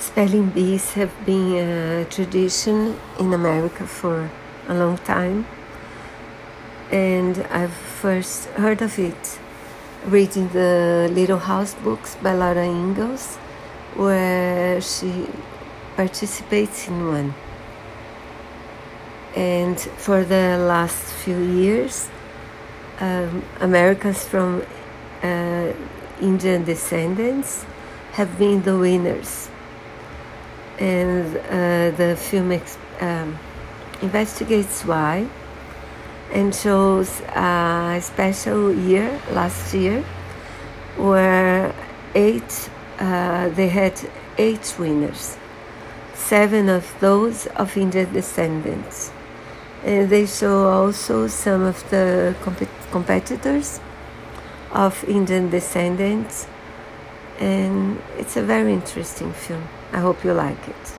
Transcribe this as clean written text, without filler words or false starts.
Spelling bees have been a tradition in America for a long time, and I've first heard of it reading the Little House books by Laura Ingalls, where she participates in one. And for the last few years, Americans from Indian descendants have been the winners. And the film investigates why and shows a special year last year where they had 8 winners, 7 of those of Indian descendants. And they show also some of the competitors of Indian descendants, and it's a very interesting film. I hope you like it.